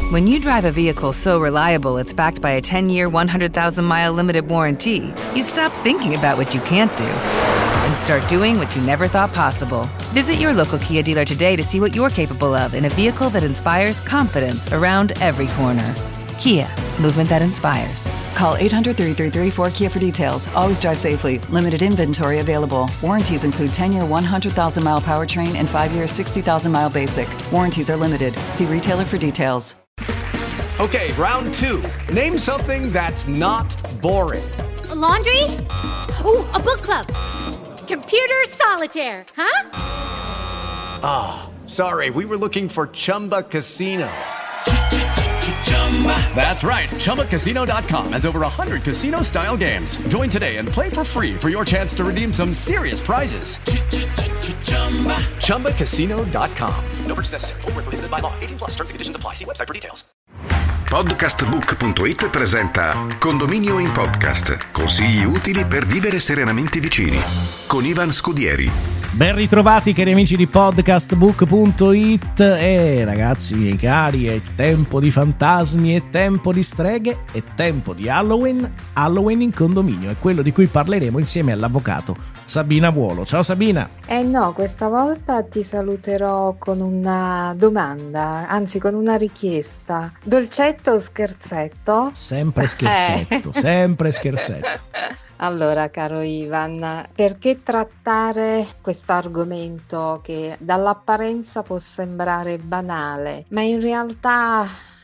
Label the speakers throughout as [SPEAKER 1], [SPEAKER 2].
[SPEAKER 1] When you drive a vehicle so reliable it's backed by a 10-year, 100,000-mile limited warranty, you stop thinking about what you can't do and start doing what you never thought possible. Visit your local Kia dealer today to see what you're capable of in a vehicle that inspires confidence around every corner. Kia, movement that inspires.
[SPEAKER 2] Call 800-333-4KIA for details. Always drive safely. Limited inventory available. Warranties include 10-year 100,000-mile powertrain and 5-year 60,000-mile basic. Warranties are limited. See retailer for details.
[SPEAKER 3] Okay, round two. Name something that's not boring.
[SPEAKER 4] A laundry? Ooh, a book club. Computer solitaire, huh?
[SPEAKER 3] Ah, sorry, we were looking for Chumba Casino. That's right, ChumbaCasino.com has over 100 casino-style games. Join today and play for free for your chance to redeem some serious prizes. ChumbaCasino.com. No purchase necessary. Void where prohibited by law. 18+ terms and conditions apply. See website for details.
[SPEAKER 5] Podcastbook.it presenta Condominio in Podcast. Consigli utili per vivere serenamente vicini. Con Ivan Scudieri.
[SPEAKER 6] Ben ritrovati cari amici di Podcastbook.it. E ragazzi miei cari, è tempo di fantasmi, è tempo di streghe, è tempo di Halloween. Halloween in condominio è quello di cui parleremo insieme all'avvocato Sabina Vuolo. Ciao Sabina.
[SPEAKER 7] No, questa volta ti saluterò con una domanda, anzi con una richiesta. Dolcetto o scherzetto?
[SPEAKER 6] Sempre scherzetto, sempre scherzetto.
[SPEAKER 7] Allora, caro Ivan, perché trattare questo argomento che dall'apparenza può sembrare banale, ma in realtà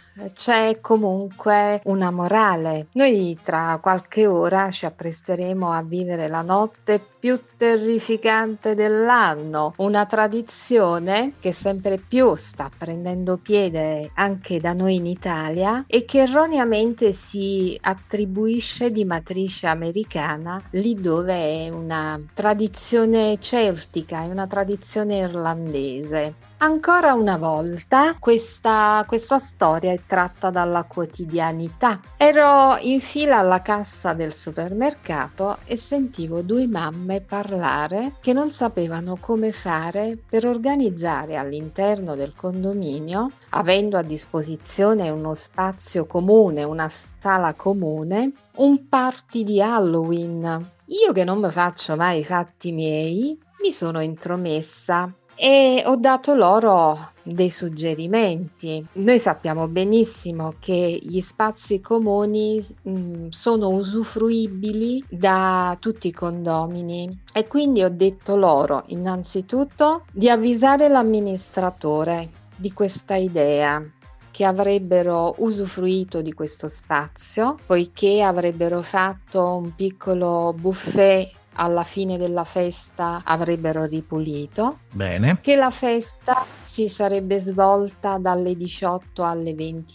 [SPEAKER 7] c'è comunque una morale. Noi tra qualche ora ci appresteremo a vivere la notte più terrificante dell'anno, una tradizione che sempre più sta prendendo piede anche da noi in Italia e che erroneamente si attribuisce di matrice americana, lì dove è una tradizione celtica, è una tradizione irlandese. Ancora una volta questa storia è tratta dalla quotidianità. Ero in fila alla cassa del supermercato e sentivo due mamme parlare che non sapevano come fare per organizzare all'interno del condominio, avendo a disposizione uno spazio comune, una sala comune, un party di Halloween. Io che non mi faccio mai i fatti miei, mi sono intromessa e ho dato loro dei suggerimenti. Noi sappiamo benissimo che gli spazi comuni sono usufruibili da tutti i condomini e quindi ho detto loro innanzitutto di avvisare l'amministratore di questa idea, che avrebbero usufruito di questo spazio, poiché avrebbero fatto un piccolo buffet. Alla fine della festa avrebbero ripulito.
[SPEAKER 6] Bene.
[SPEAKER 7] Che la festa si sarebbe svolta dalle 18 alle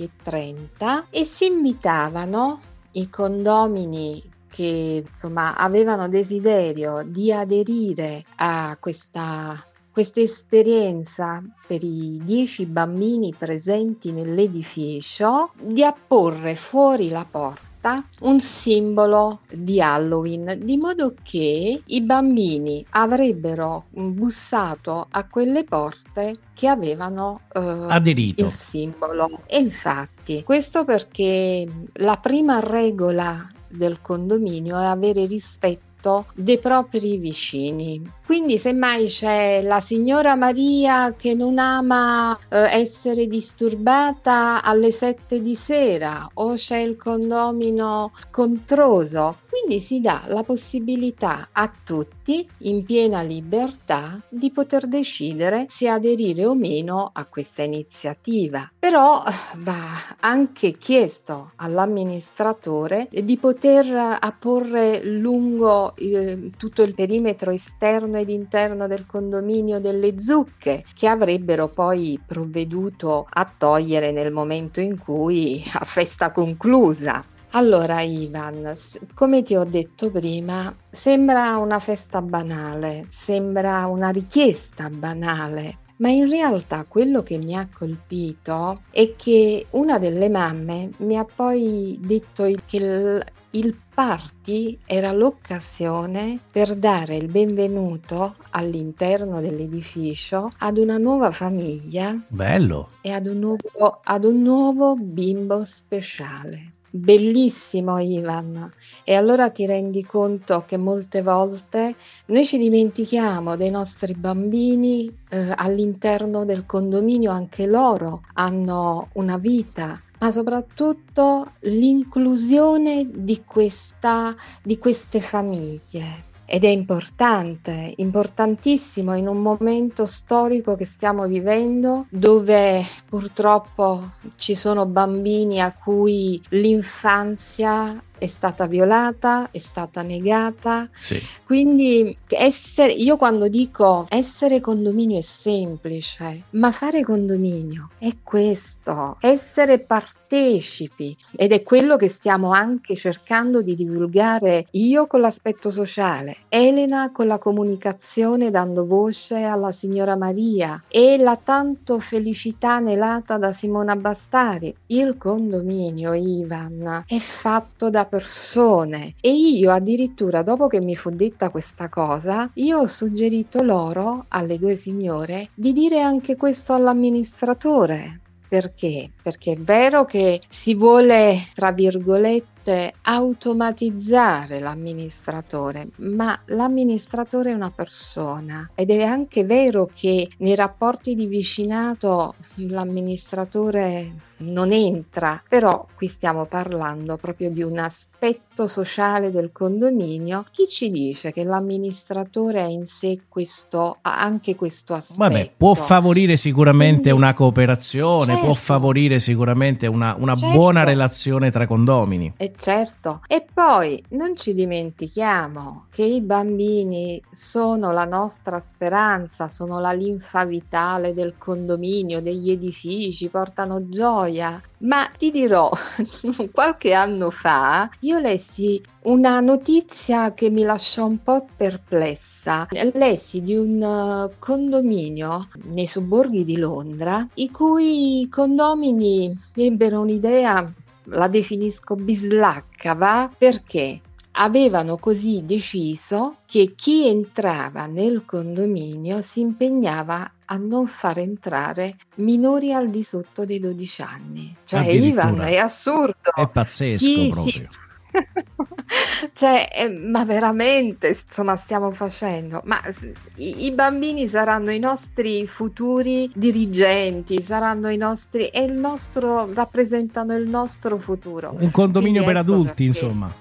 [SPEAKER 7] 20:30 e si invitavano i condomini che insomma avevano desiderio di aderire a questa esperienza per i 10 bambini presenti nell'edificio, di apporre fuori la porta un simbolo di Halloween, di modo che i bambini avrebbero bussato a quelle porte che avevano
[SPEAKER 6] aderito
[SPEAKER 7] il simbolo. E infatti questo perché la prima regola del condominio è avere rispetto dei propri vicini. Quindi semmai c'è la signora Maria che non ama essere disturbata alle 7 di sera, o c'è il condomino scontroso, quindi si dà la possibilità a tutti in piena libertà di poter decidere se aderire o meno a questa iniziativa. Però va anche chiesto all'amministratore di poter apporre lungo tutto il perimetro esterno ed interno del condominio delle zucche, che avrebbero poi provveduto a togliere nel momento in cui a festa conclusa. Allora Ivan, come ti ho detto prima, sembra una festa banale, sembra una richiesta banale, Ma in realtà quello che mi ha colpito è che una delle mamme mi ha poi detto che il party era l'occasione per dare il benvenuto all'interno dell'edificio ad una nuova famiglia.
[SPEAKER 6] Bello.
[SPEAKER 7] E ad un nuovo bimbo speciale. Bellissimo, Ivan. E allora ti rendi conto che molte volte noi ci dimentichiamo dei nostri bambini all'interno del condominio, anche loro hanno una vita, ma soprattutto l'inclusione di queste famiglie. Ed è importante, importantissimo in un momento storico che stiamo vivendo, dove purtroppo ci sono bambini a cui l'infanzia è stata violata, è stata negata.
[SPEAKER 6] Sì.
[SPEAKER 7] Quindi io quando dico essere condominio è semplice, ma fare condominio è questo, essere partecipi, ed è quello che stiamo anche cercando di divulgare, io con l'aspetto sociale, Elena con la comunicazione dando voce alla signora Maria e la tanto felicità anelata da Simona Bastari. Il condominio, Ivan, è fatto da persone, e io addirittura, dopo che mi fu detta questa cosa, io ho suggerito loro, alle due signore, di dire anche questo all'amministratore. Perché? Perché è vero che si vuole, tra virgolette, automatizzare l'amministratore, ma l'amministratore è una persona, ed è anche vero che nei rapporti di vicinato l'amministratore non entra, però qui stiamo parlando proprio di un aspetto sociale del condominio. Chi ci dice che l'amministratore ha in sé anche questo aspetto?
[SPEAKER 6] Vabbè, può favorire sicuramente
[SPEAKER 7] Quindi,
[SPEAKER 6] una cooperazione, può
[SPEAKER 7] certo,
[SPEAKER 6] favorire sicuramente una
[SPEAKER 7] certo,
[SPEAKER 6] buona relazione tra condomini.
[SPEAKER 7] certo. E poi non ci dimentichiamo che i bambini sono la nostra speranza, sono la linfa vitale del condominio, degli edifici, portano gioia. Ma ti dirò, qualche anno fa io lessi una notizia che mi lasciò un po' perplessa. Lessi di un condominio nei sobborghi di Londra, i cui condomini ebbero un'idea, la definisco bislacca, va? Perché avevano così deciso che chi entrava nel condominio si impegnava a non far entrare minori al di sotto dei 12 anni. Cioè, Ivan, è assurdo.
[SPEAKER 6] È pazzesco,
[SPEAKER 7] Sì,
[SPEAKER 6] proprio.
[SPEAKER 7] sì. Cioè, ma veramente, insomma, stiamo facendo, ma i bambini saranno i nostri futuri dirigenti, saranno i nostri, rappresentano il nostro futuro.
[SPEAKER 6] Un condominio
[SPEAKER 7] Quindi
[SPEAKER 6] per
[SPEAKER 7] ecco
[SPEAKER 6] adulti,
[SPEAKER 7] perché.
[SPEAKER 6] insomma.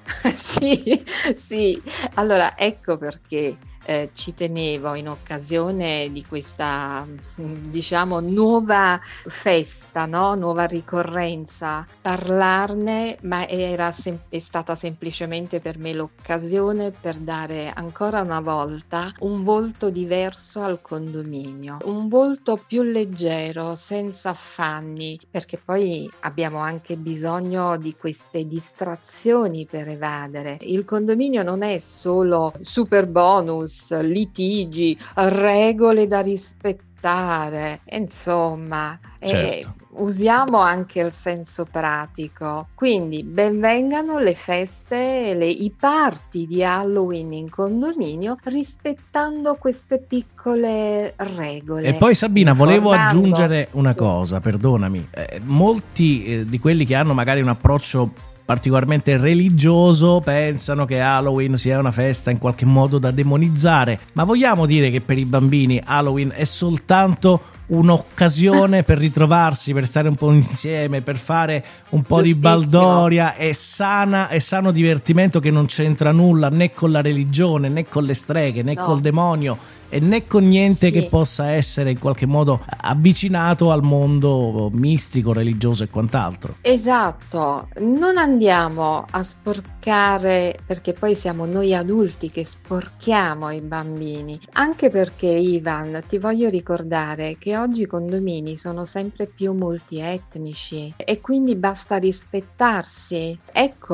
[SPEAKER 7] Sì, allora ecco perché ci tenevo, in occasione di questa, diciamo, nuova festa, no? Nuova ricorrenza, parlarne, ma è stata semplicemente per me l'occasione per dare ancora una volta un volto diverso al condominio, un volto più leggero, senza affanni, perché poi abbiamo anche bisogno di queste distrazioni per evadere. Il condominio non è solo super bonus, litigi, regole da rispettare, insomma,
[SPEAKER 6] Certo.
[SPEAKER 7] usiamo anche il senso pratico. Quindi benvengano le feste, i party di Halloween in condominio, rispettando queste piccole regole.
[SPEAKER 6] E poi, Sabina, volevo
[SPEAKER 7] informando.
[SPEAKER 6] aggiungere una cosa, perdonami. Molti di quelli che hanno magari un approccio particolarmente religioso pensano che Halloween sia una festa in qualche modo da demonizzare, ma vogliamo dire che per i bambini Halloween è soltanto un'occasione per ritrovarsi, per stare un po' insieme, per fare un po' di baldoria e sano divertimento che non c'entra nulla né con la religione, né con le streghe, né col demonio, e né con niente che possa essere in qualche modo avvicinato al mondo mistico, religioso e quant'altro.
[SPEAKER 7] Esatto, non andiamo a sporcare, perché poi siamo noi adulti che sporchiamo i bambini, anche perché, Ivan, ti voglio ricordare che oggi i condomini sono sempre più multietnici e quindi basta rispettarsi. Ecco,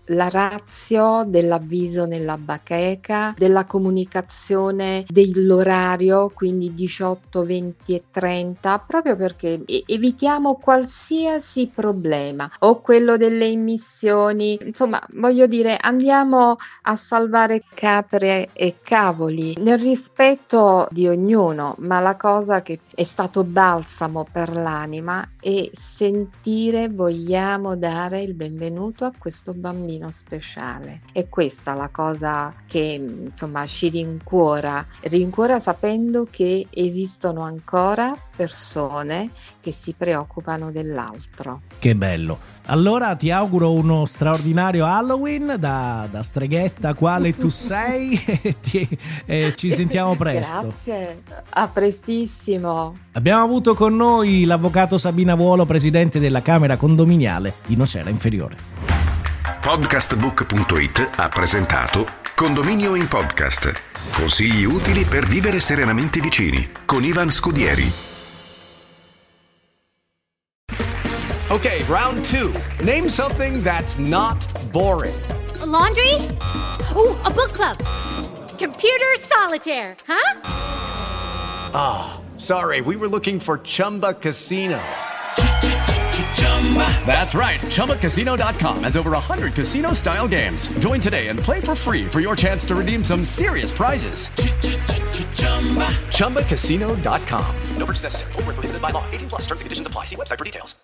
[SPEAKER 7] la ratio dell'avviso nella bacheca, della comunicazione dell'orario, quindi 18, 20 e 30, proprio perché evitiamo qualsiasi problema, o quello delle immissioni. Insomma, voglio dire, andiamo a salvare capre e cavoli nel rispetto di ognuno, ma la cosa che è stato balsamo per l'anima è sentire vogliamo dare il benvenuto a questo bambino speciale. E questa la cosa che insomma ci rincuora sapendo che esistono ancora persone che si preoccupano dell'altro.
[SPEAKER 6] Che bello. Allora ti auguro uno straordinario Halloween da streghetta quale tu sei e ci sentiamo presto.
[SPEAKER 7] Grazie, a prestissimo.
[SPEAKER 6] Abbiamo avuto con noi l'avvocato Sabina Vuolo, presidente della Camera Condominiale di Nocera Inferiore.
[SPEAKER 5] Podcastbook.it ha presentato Condominio in Podcast. Consigli utili per vivere serenamente vicini con Ivan Scudieri.
[SPEAKER 3] Okay, round 2. Name something that's not boring.
[SPEAKER 4] A laundry? Ooh, a book club. Computer solitaire, huh?
[SPEAKER 3] Sorry, we were looking for Chumba Casino. That's right. ChumbaCasino.com has over 100 casino-style games. Join today and play for free for your chance to redeem some serious prizes. ChumbaCasino.com. No purchase necessary. Void where prohibited by law. 18+ terms and conditions apply. See website for details.